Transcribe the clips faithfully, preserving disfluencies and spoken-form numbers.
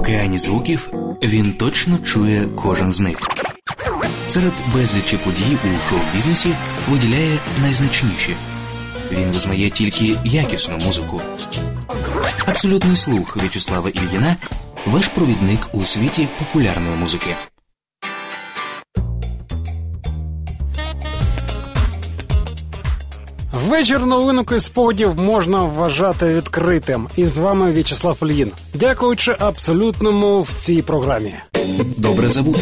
океані звуків він точно чує кожен з них. Серед безлічі подій у шоу-бізнесі виділяє найзначніші. Він визнає тільки якісну музику. Абсолютний слух В'ячеслава Ільїна – ваш провідник у світі популярної музики. Вечір новинок і спогадів можна вважати відкритим. І з вами В'ячеслав Ільїн. Дякуючи абсолютному в цій програмі. Добре забути.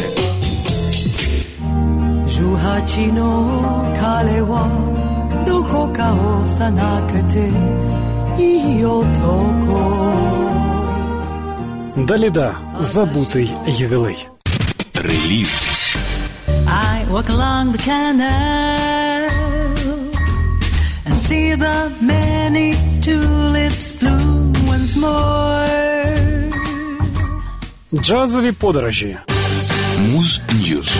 Даліда. Забутий ювілей. Реліз. I walk along the canal and see the many tulips bloom once more. Джазові подорожі. Муз Ньюз.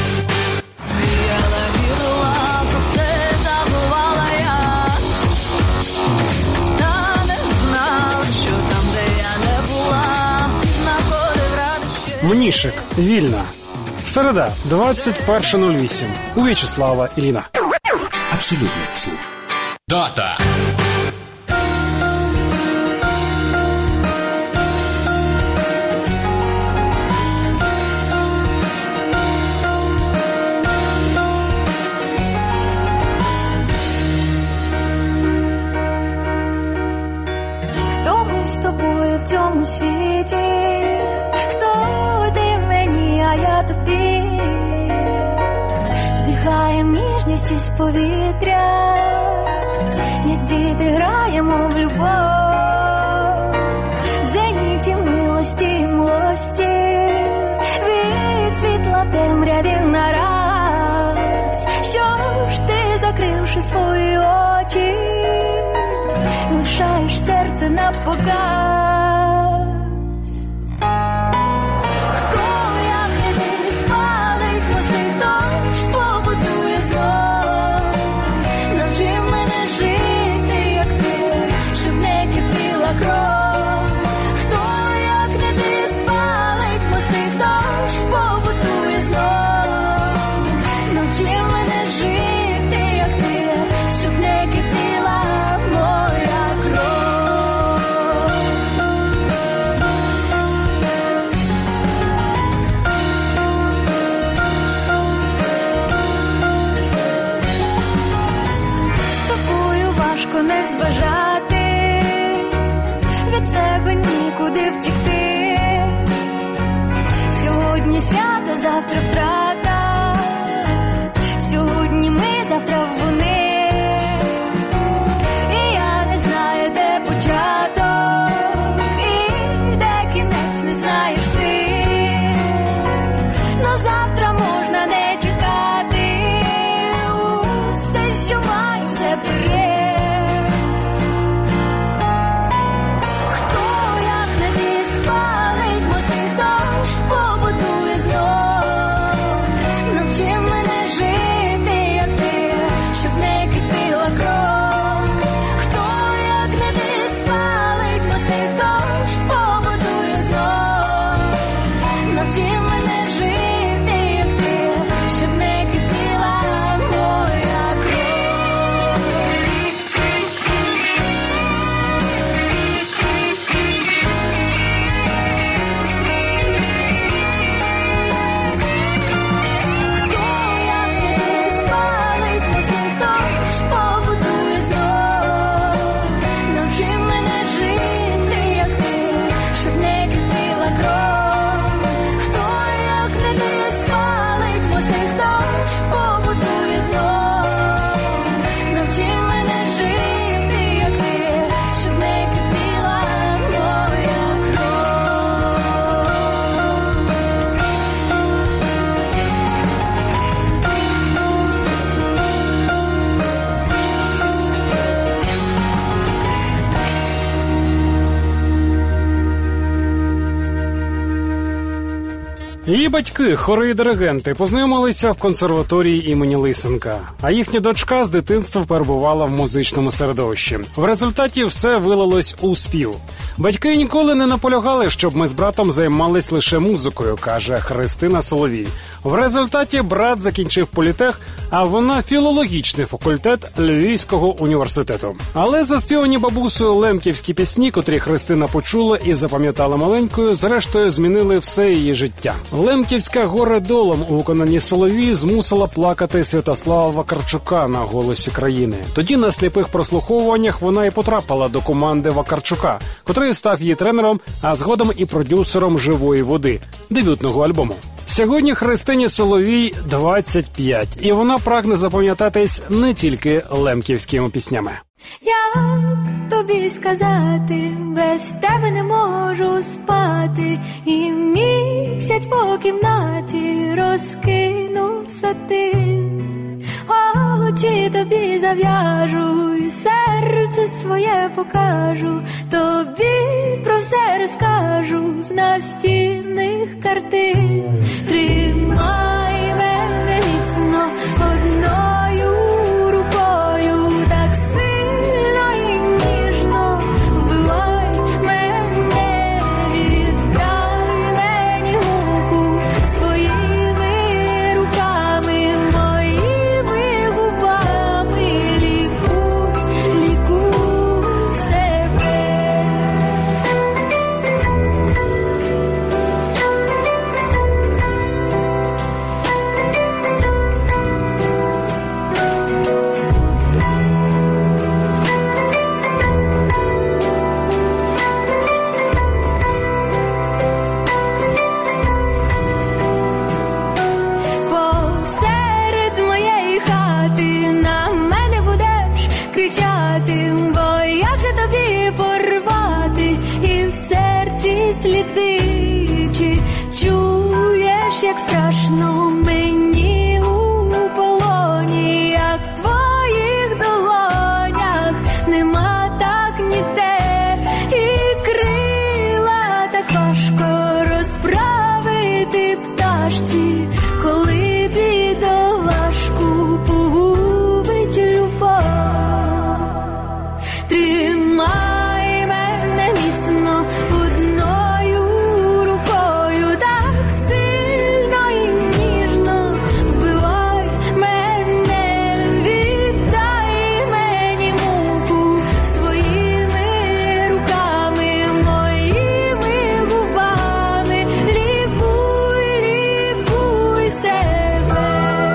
Мнішик. Вільна. Середа, двадцять перше нуль вісім. У В'ячеслава Ільїна. Абсолютний слух. Дата. Хто ми з тобою в цьому світі? Хто ти мені, а я тобі? Вдихаєм ніжність із повітря, як діти граємо в любов, в зеніті милості і милості, від світла в темряві нараз. Що ж ти, закривши свої очі, лишаєш серце на показ? Хто, як не ти, спалить мости, хто ж побудує знов? Навчи мене жити, як ти, щоб не кипіла кров. Хто, як не ти, спалить мости, хто ж побудує знов? Навчи мене жити, як ти, щоб не кипіла моя кров. З тобою важко не зважати, від себе нікуди втікти. Сьогодні свято, завтра втрата, сьогодні ми, завтра вони. І я не знаю, де початок, і де кінець, не знаєш ти. На завтра можна не чекати, усе, що маю, все вперед. Хто, як не ти, спалить мости, хто ж побудує знов? Навчи мене жити, як ти, щоб не кипіла кров. Хто, як не ти, спалить мости, хто ж побудує знов? Навчи мене жити, як ти, щоб не кипіла моя кров. Хто, як не ти, спалить мости, хто ж побудує знов? Навчи мене жити, як ти, щоб не кипіла кров. Хто, як не ти, спалить мости, хто ж побудує знов? Навчи мене жити, як ти, щоб не кипіла моя кров. Її батьки, хори і диригенти, познайомилися в консерваторії імені Лисенка, а їхня дочка з дитинства перебувала в музичному середовищі. В результаті все вилилось у спів. Батьки ніколи не наполягали, щоб ми з братом займались лише музикою, каже Христина Соловій. В результаті брат закінчив політех, а вона філологічний факультет Львівського університету. Але заспівані бабусею лемківські пісні, котрі Христина почула і запам'ятала маленькою, зрештою змінили все її життя. Лемківська «Горе долом» у виконанні Соловій змусила плакати Святослава Вакарчука на «Голосі країни». Тоді на сліпих прослуховуваннях вона і потрапила до команди Вакарчука, котрий став її тренером, а згодом і продюсером «Живої води» дебютного альбому. Сьогодні Христині Соловій двадцять п'ять, і вона прагне запам'ятатись не тільки лемківськими піснями. Як тобі сказати, без тебе не можу спати, і місяць по кімнаті розкинув сатин. Очі тобі зав'яжу, і серце своє покажу, тобі про все розкажу з настінних картин. Тримай мене міцно одною рукою, так сильно і ніжно вбивай мене, віддай мені муку своїми руками, моїми губами, лікуй, лікуй себе. Посеред моєї хати на мене будеш кричати, бо як же тобі порвати і в серці сліди, чи чуєш, як страшно мені у полоні, як в твоїх долонях нема так ніде, і крила так важко розправити пташці, коли бідолашку погубить любов. Тримай мене міцно одною рукою, так сильно і ніжно вбивай мене, віддай мені муку своїми руками, моїми губами, лікуй, лікуй себе.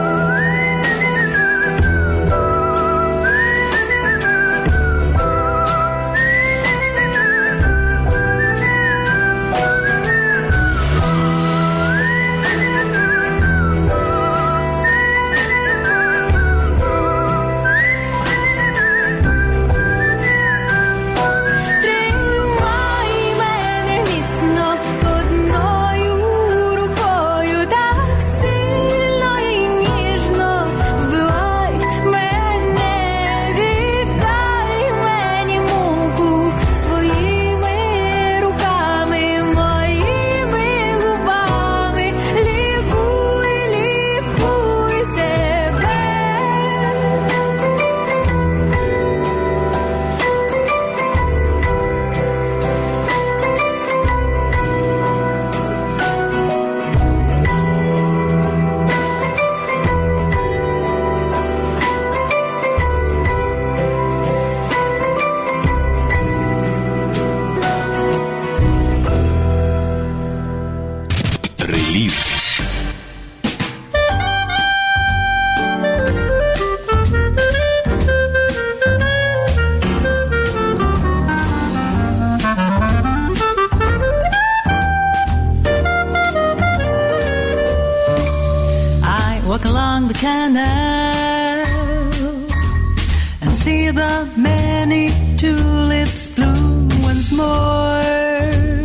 Тримай мене міцно одною рукою, так сильно і ніжно вбивай мене, віддай мені муку своїми руками, моїми губами, лікуй, лікуй себе. Реліз. I walk along the canal and see the many tulips bloom once more.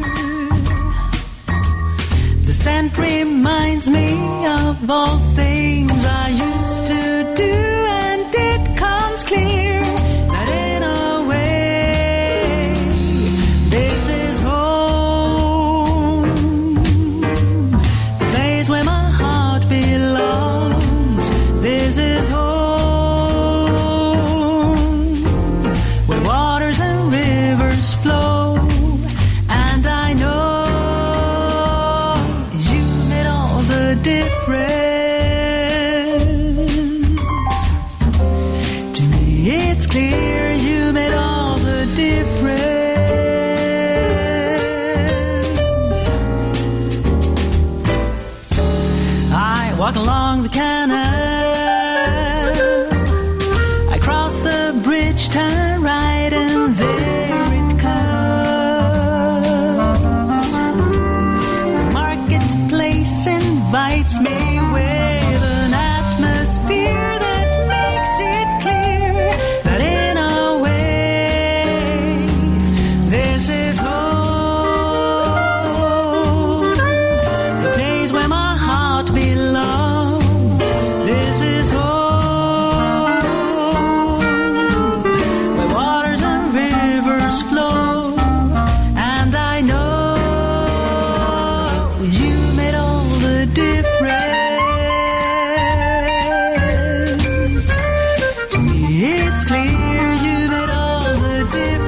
The scent reminds me of all things I used to do, and it comes clear that in a way this is home, the place where my heart belongs. This is home, where waters and rivers flow. the canal. I cross the bridge, turn right, and there it comes. The marketplace invites me with an atmosphere that makes it clear that in a way this is home, the place where my heart belongs. This is home, where waters and rivers flow, and I know you made all the difference. To me it's clear you made all the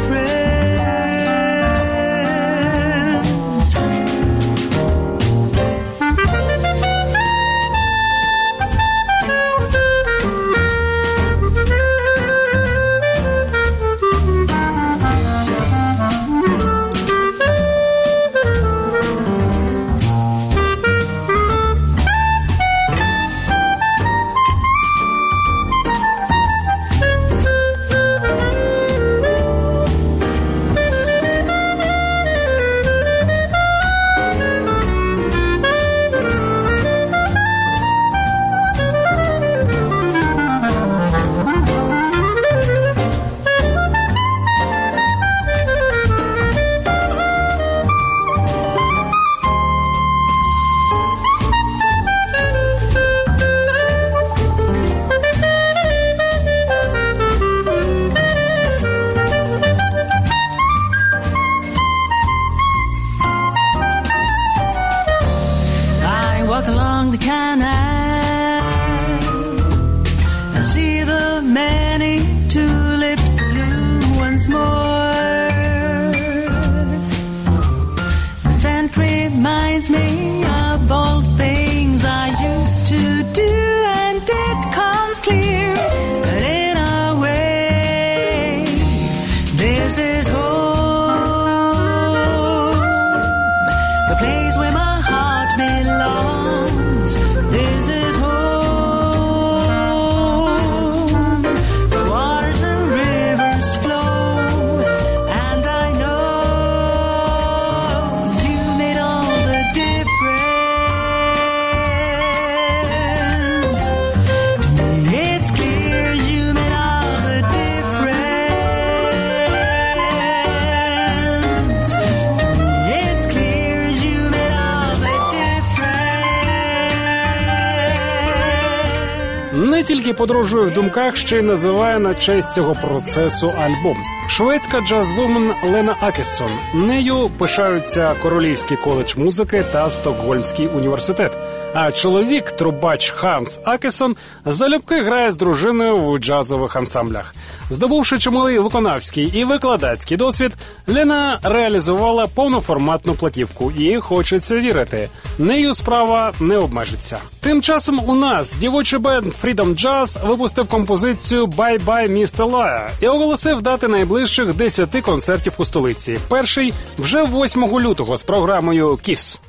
difference. I walk along the canal and see the many tulips bloom once more. The scent reminds me of all things I used to do, and it comes clear that in a way this is home, the place where my heart belongs. This is home, where waters and rivers flow, and I know you made all the difference. To me it's clear you made all the difference. To me it's clear you made all the difference. Не тільки подорожує в думках, ще й називає на честь цього процесу альбом. Шведська джаз-вумен Лена Акессон. Нею пишаються Королівський коледж музики та Стокгольмський університет. А чоловік, трубач Ханс Акессон, залюбки грає з дружиною в джазових ансамблях. Здобувши чималий виконавський і викладацький досвід, Лена реалізувала повноформатну платівку і хочеться вірити. Нею справа не обмежиться. Тим часом у нас дівочий бенд Freedom Jazz випустив композицію «Bye Bye Mister Liar» і оголосив дати найближчих десяти концертів у столиці. Перший вже восьмого лютого з програмою «Kiss».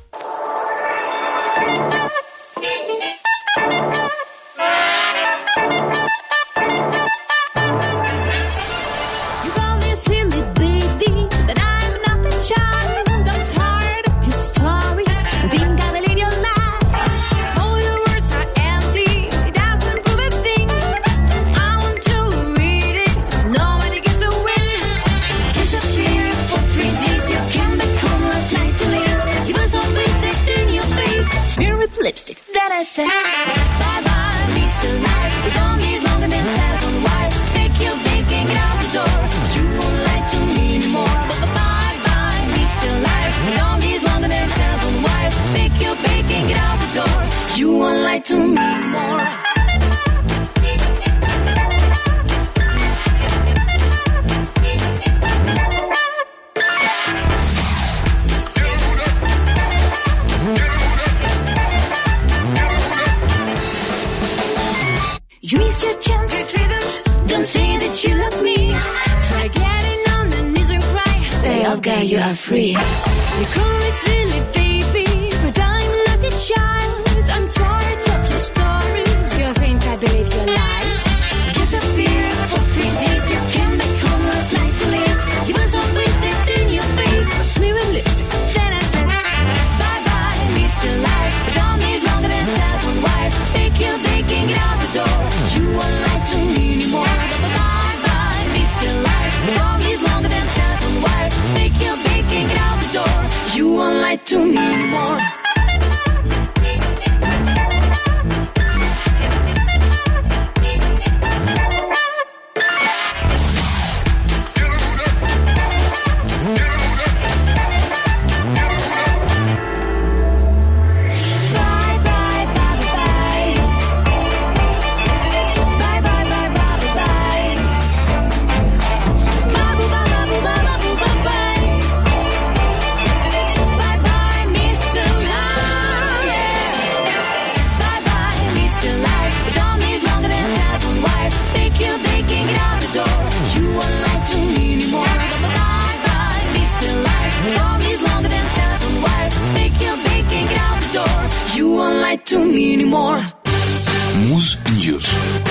You call me silly baby, but I'm not the child. I'm tired of your stories. I think I believe your lies. All your words are empty. It doesn't prove a thing. I want to read it. Nobody gets a win. Disappear for three days. You came back home last night too late. You were so wasted in your face. Smear with lipstick. Then I said, bye bye, Mister Liar. The song is longer than a telephone wire. Take your baking out the door. You won't lie to me anymore. But bye bye, Mister Liar. The song is longer than a telephone wire. Take your baking out the door. You won't lie to me anymore. You miss your chance. Don't say that you love me. Try getting on the knees and cry. They all got you are free. You call me silly baby, but I'm not a child. I'm tired of your story. anymore. To me anymore. Muse News.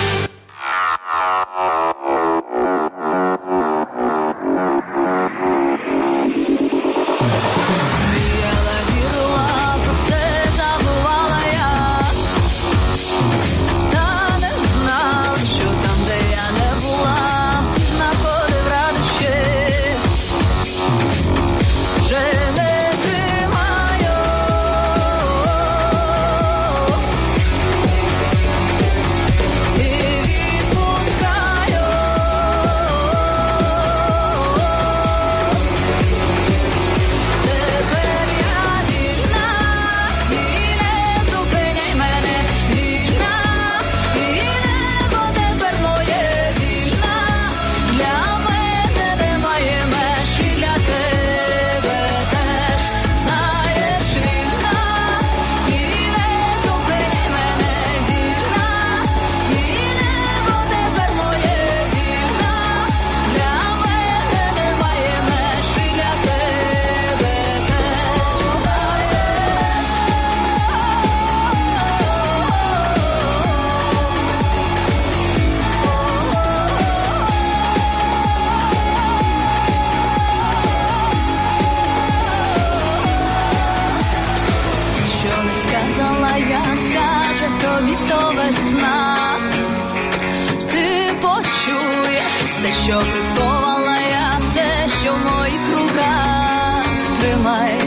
Що приховала я, все, що в моїх руках, тримай.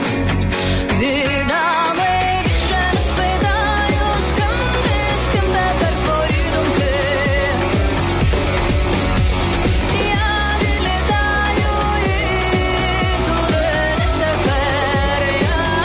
Віддами більше не спитаю, з ким ти, з ким тепер твої думки. Я відлітаю і туди не тепер я.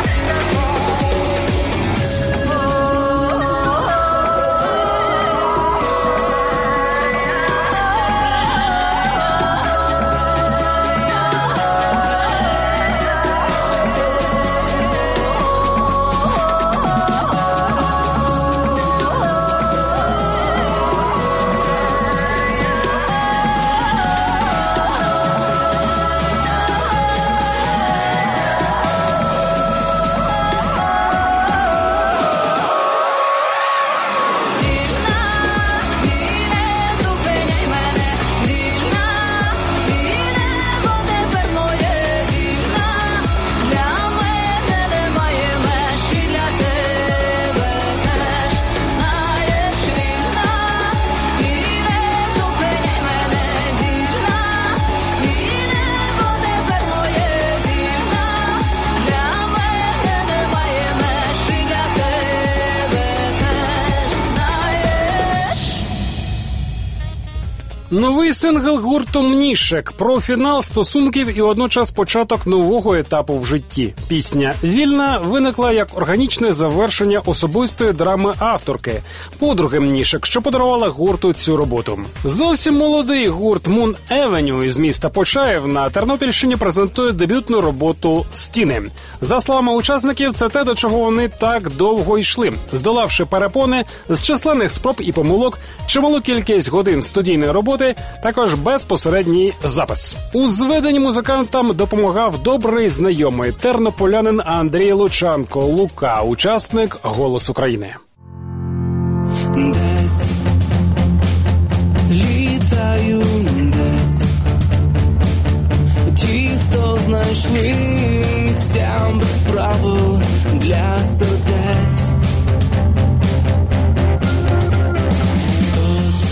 Новий сингл гурту «Мнішек» про фінал стосунків і водночас початок нового етапу в житті. Пісня «Вільна» виникла як органічне завершення особистої драми авторки, подруги Мнішек, що подарувала гурту цю роботу. Зовсім молодий гурт Moon Avenue із міста Почаїв на Тернопільщині презентує дебютну роботу «Стіни». За словами учасників, це те, до чого вони так довго йшли, здолавши перепони з численних спроб і помилок, чималу кількість годин студійної роботи, також безпосередній запис. У зведенні музикантам допомагав добрий знайомий тернополянин Андрій Лучанко Лука, учасник «Голос України». Десь літаю, десь ті, хто знайшли місця без правил для сердець. Хтось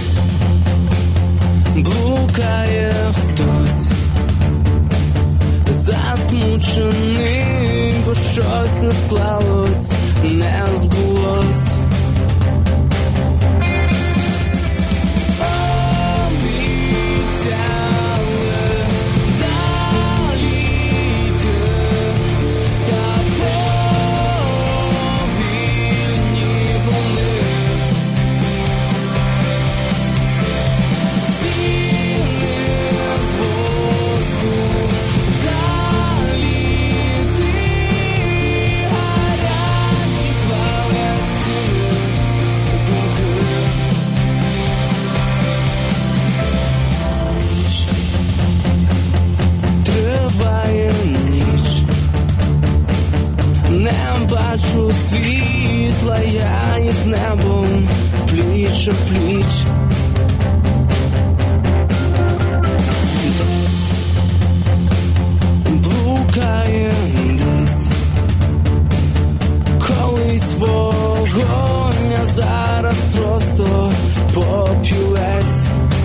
блукає, хтось засмучений, бо щось не склалось, не збулось. Бачу світла, я із небом пліч о пліч. Десь блукає десь, колись вогонь, а зараз просто попілець.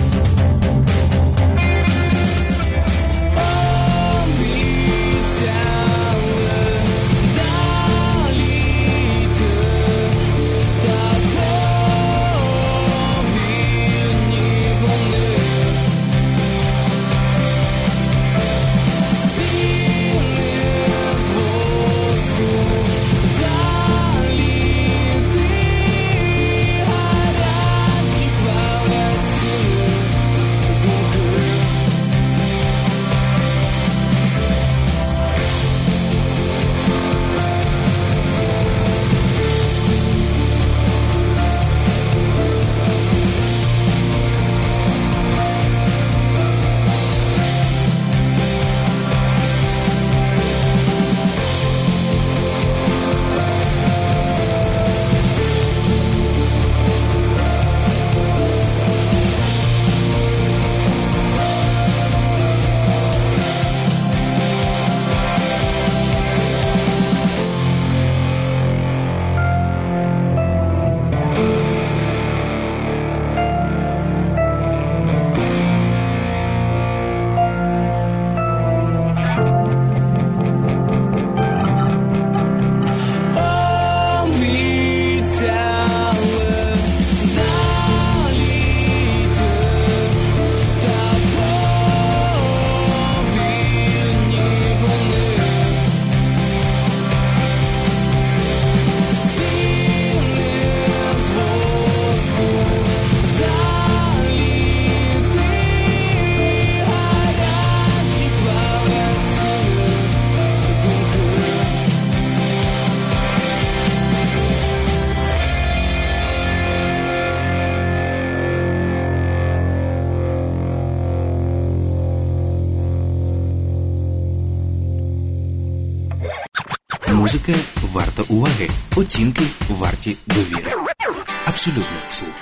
Музика варта уваги, оцінки варті довіри. Абсолютний слух.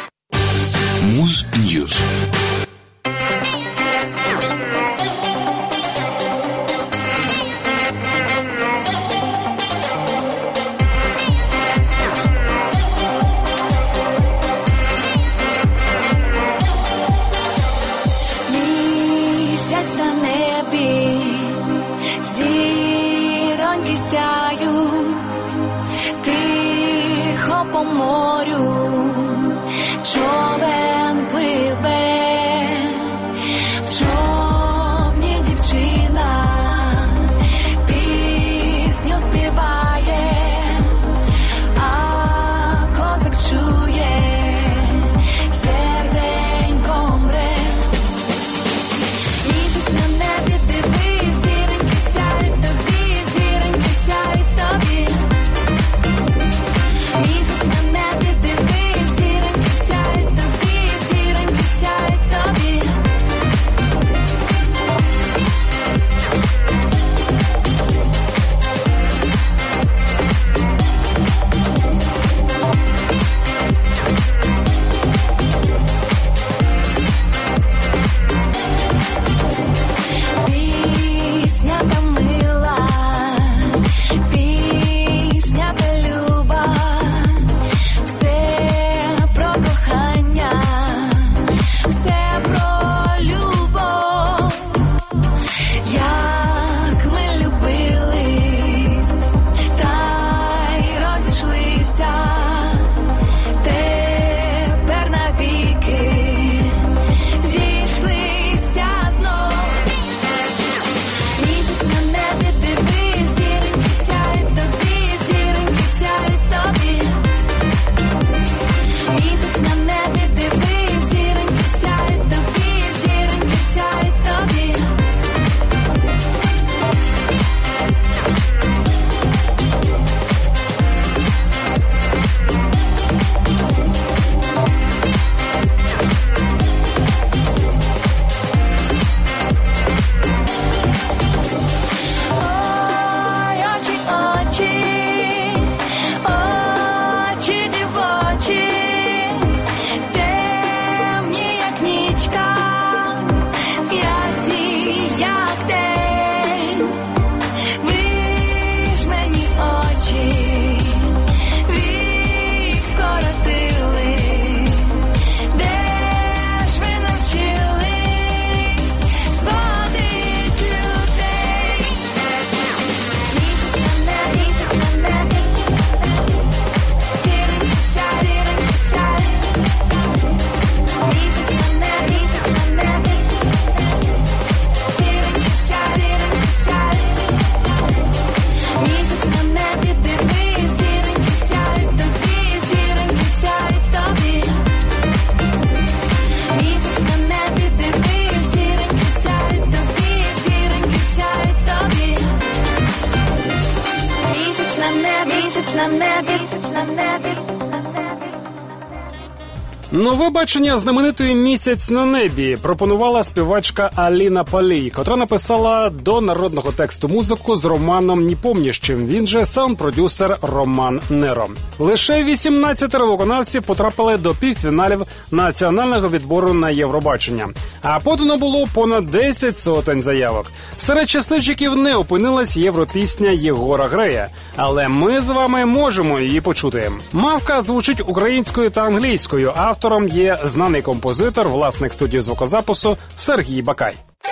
Муз Ньюз. Місяць на небі, зіроньки сяють, тихо по морю, човен пливе, в човні дівчина пісню співає, а козак чує, серденько мре. Місяць на небі, дивись, зіроньки сяють тобі, зіроньки сяють тобі. Місяць на небі, дивись, зіроньки сяють тобі, небі, місяць на небі, місяць на небі. Нове бачення знаменитої «Місяць на небі» пропонувала співачка Аліна Палій, котра написала до народного тексту музику з Романом Непомнящим, він же саунд-продюсер Роман Неро. Лише вісімнадцятеро виконавців потрапили до півфіналів національного відбору на Євробачення, а подано було понад десять сотень заявок. Серед щасливчиків не опинилась європісня Єгора Грея, але ми з вами можемо її почути. Мавка звучить українською та англійською, автором є знаний композитор, власник студії звукозапису Сергій Бакай.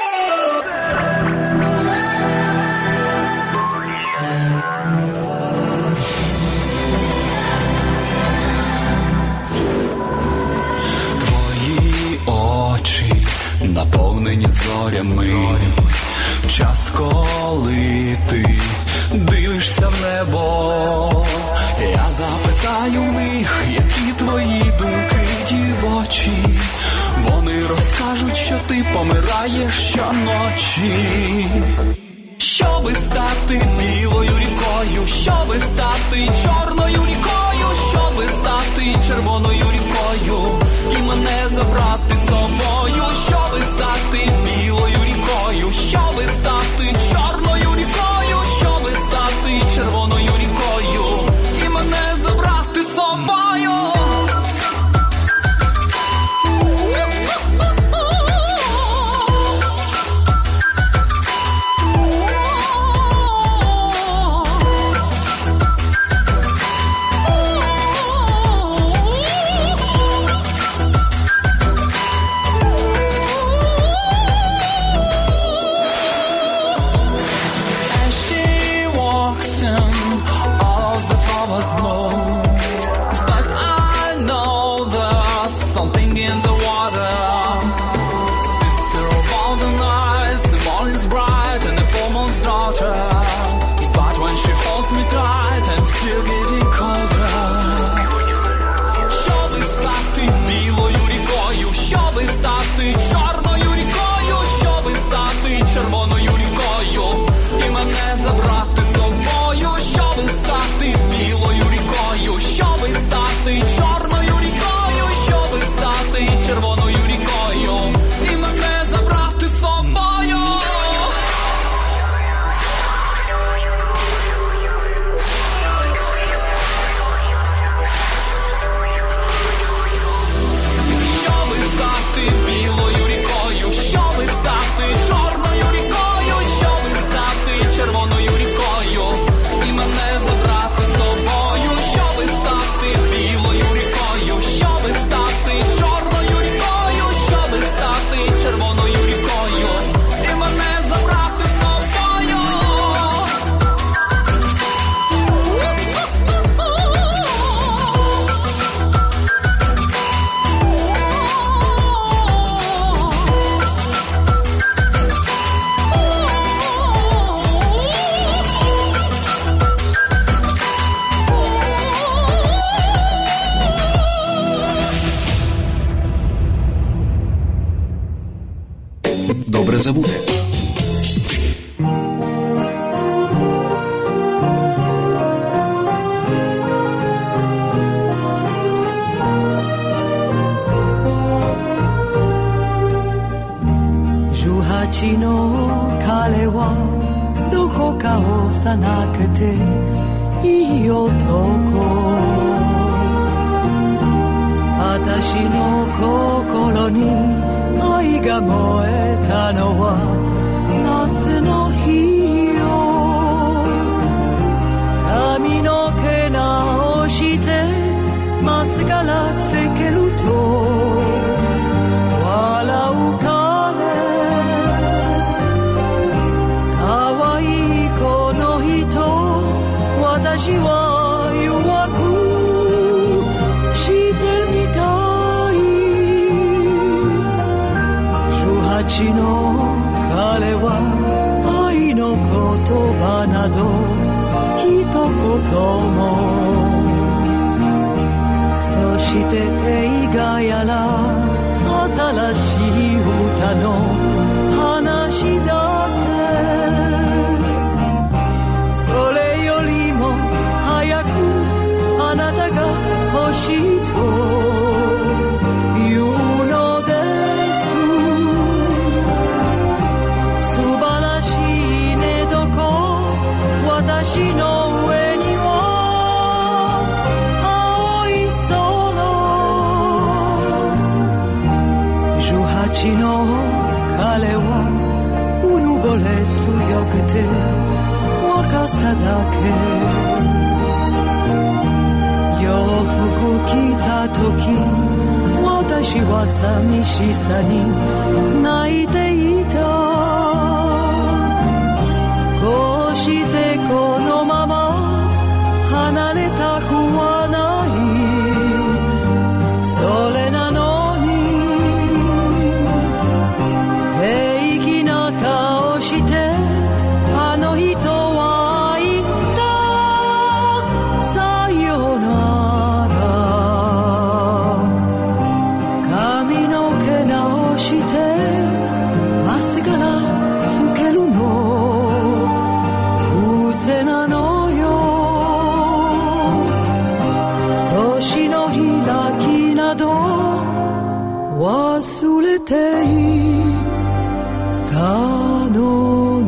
Твої очі наповнені зорями. Час, коли ти дивишся в небо, я запитаю в них, які твої думки дівочі. Вони розкажуть, що ти помираєш щоночі. Щоби стати білою рікою, щоби стати чорною рікою, щоби стати червоною рікою і мене забрати з собою. Щоби стати білою рікою, щоби стати чорною рікою, щоби стати червоною рікою і мене забрати з собою. Добре забути. Жугачіの彼はどこか幼くていい男。私の心に愛が燃えたのは夏の日よ。髪の毛直してマスカラつけると笑う彼。可愛いこの人私は弱くしてみたい。十八の彼は愛の言葉など一言も。そして映画やら新しい歌の話だけ。それよりもだけ洋服着た時私は寂しさに泣いていたこうしてこのまま離れたくはないそれなのに平気な顔してあの人は言ったさよなら髪の毛直してマスカラつけるのうせなのよ年の開きなど忘れていたのね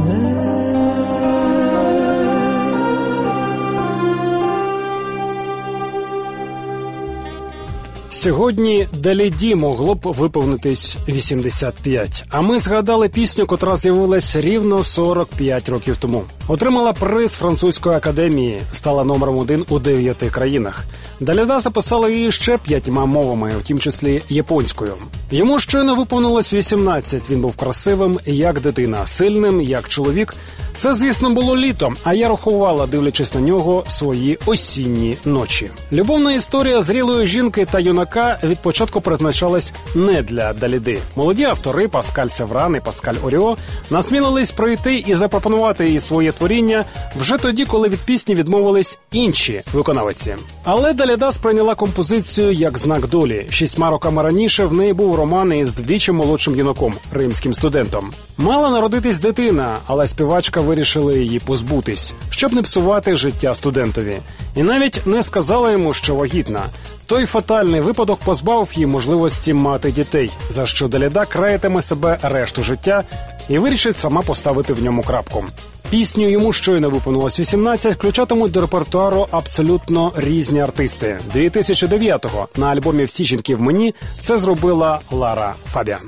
Сьогодні Даліді могло б виповнитись вісімдесят п'ять, а ми згадали пісню, котра з'явилась рівно сорок п'ять років тому. Отримала приз французької академії, стала номером один у дев'яти країнах. Даліда записала її ще п'ятьма мовами, в тім числі японською. Йому щойно виповнилось вісімнадцять, він був красивим, як дитина, сильним, як чоловік. Це, звісно, було літом, а я рахувала, дивлячись на нього, свої осінні ночі. Любовна історія зрілої жінки та юнака від початку призначалась не для Даліди. Молоді автори Паскаль Севран і Паскаль Оріо насмілились прийти і запропонувати їй своє творіння вже тоді, коли від пісні відмовились інші виконавиці. Але Даліда сприйняла композицію як знак долі. Шістьма роками раніше в неї був роман із вдвічі молодшим юнаком, римським студентом. Мала народитись дитина, але співачка вирішила її позбутись, щоб не псувати життя студентові. І навіть не сказала йому, що вагітна. Той фатальний випадок позбавив її можливості мати дітей, за що Даліда краятиме себе решту життя і вирішить сама поставити в ньому крапку. Пісню «Йому щойно виповнилось вісімнадцять» включатимуть до репертуару абсолютно різні артисти. дві тисячі дев'ятого на альбомі «Всі жінки в мені» це зробила Лара Фабіан.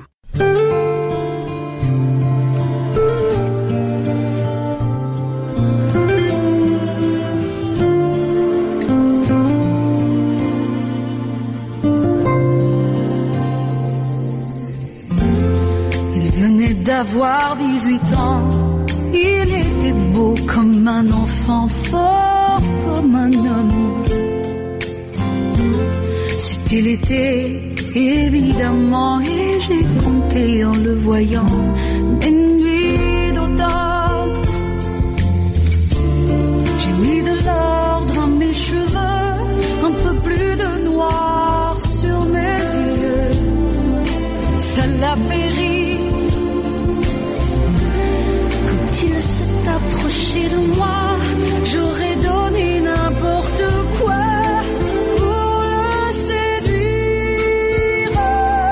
D'avoir dix-huit ans, il était beau comme un enfant, fort comme un homme. C'était l'été, évidemment, et j'ai compté en le voyant des nuits d'automne. J'ai mis de l'ordre à mes cheveux, un peu plus de noir sur mes yeux. Ça l'a péri. S'il s'est approché de moi, j'aurais donné n'importe quoi pour le séduire.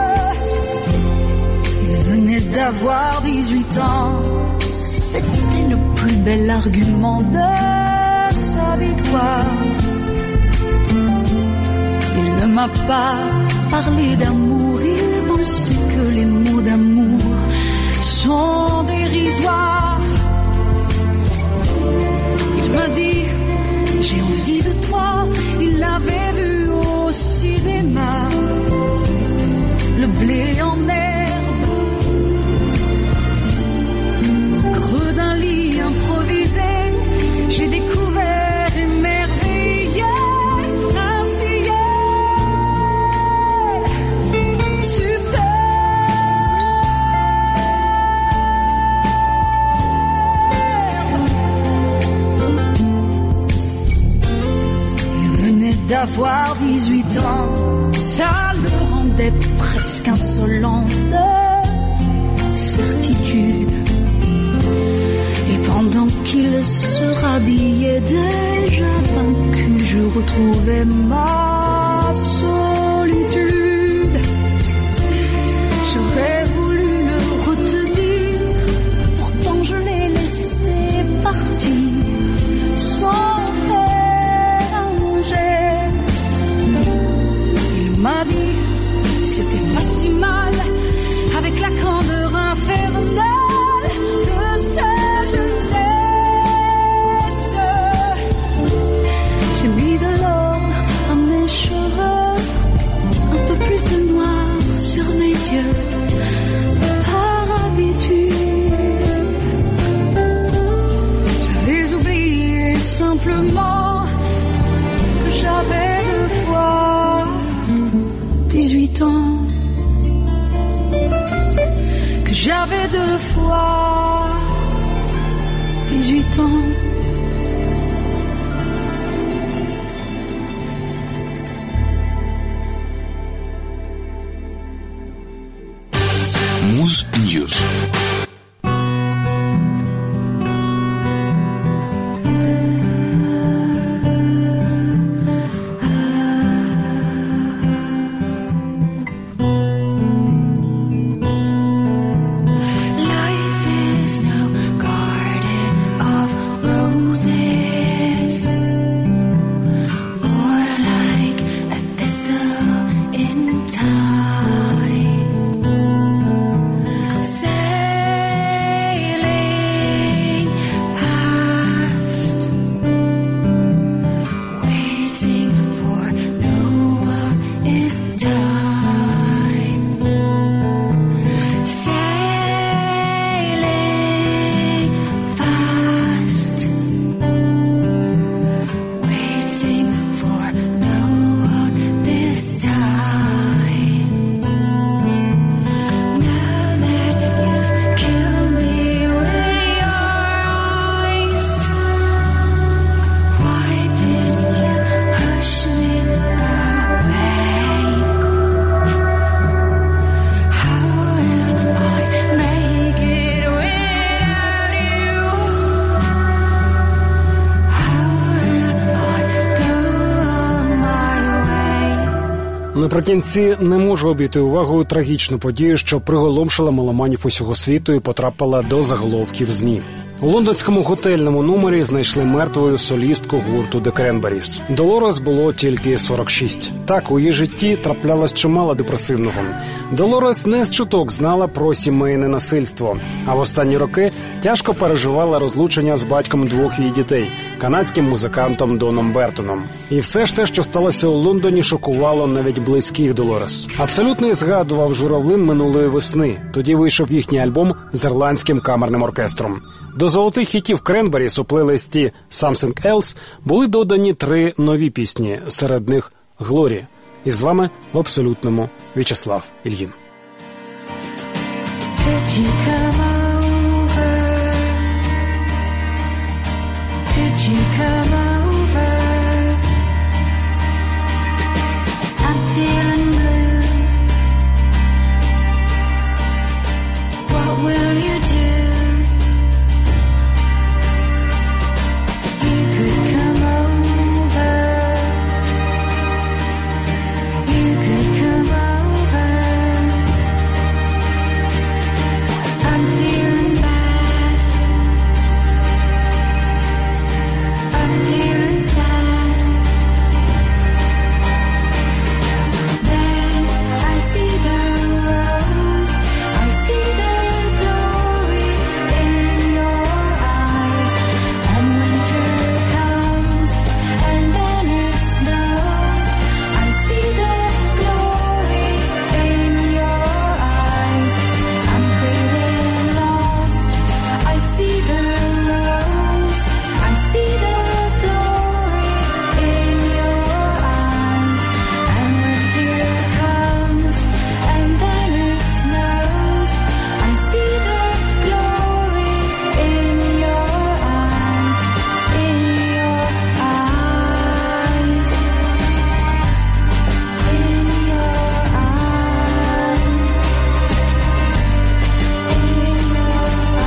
Il venait d'avoir dix-huit ans, c'était le plus bel argument de sa victoire. Il ne m'a pas parlé d'amour, il pensait que les mots d'amour sont dérisoires. Il m'a dit, j'ai envie de toi, il l'avait vu au cinéma, le blé en herbe, au creux d'un lit improvisé, j'ai découvert émerveillé un ciel super. D'avoir dix-huit ans, ça le rendait presque insolent de certitude. Et pendant qu'il se rhabillait déjà vaincu, je retrouvais ma solitude. J'aurais voulu le retenir, pourtant je l'ai laissé partir sans m'a dit, c'était pas si mal, avec la candeur infernale de sa jeunesse. News. Наприкінці не можу обійти увагою трагічну подію, що приголомшила меломанів усього світу і потрапила до заголовків ЗМІ. У лондонському готельному номері знайшли мертвою солістку гурту The Cranberries. Долорес було тільки сорок шість. Так, у її житті траплялось чимало депресивного. Долорес не з чуток знала про сімейне насильство, а в останні роки тяжко переживала розлучення з батьком двох її дітей – канадським музикантом Доном Бертоном. І все ж те, що сталося у Лондоні, шокувало навіть близьких Долорес. Абсолютно згадував журавлин минулої весни. Тоді вийшов їхній альбом з ірландським камерним оркестром. До золотих хітів Cranberries у плейлисті «Something Else» були додані три нові пісні, серед них «Глорі». І з вами в абсолютному В'ячеслав Ільїн. Could you come over? Could you come over? I'm feeling blue. What will you do? You could come over. You could come over. I'm feeling bad. I'm feeling sad. Then I see the rose. I see the glory in your eyes. And winter comes, and then it snows. I see the glory in your eyes. I'm feeling lost. I see the rose. I see the glory in your eyes. And winter comes, and then it snows. I see the glory in your eyes. In your eyes. In your eyes. In your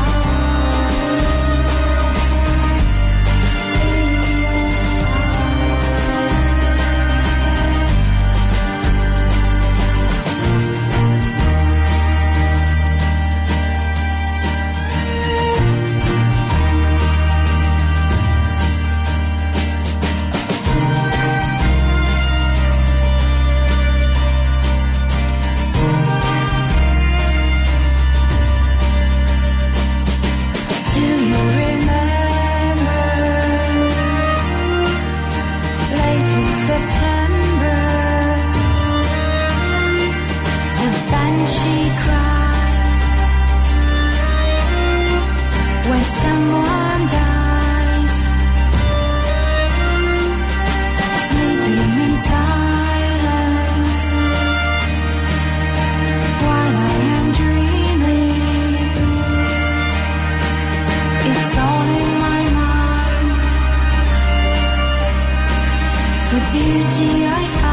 Do you remember late in September the banshee cry when someone dies, sleeping in silence while I am dreaming? It's all in my mind. The beauty I find.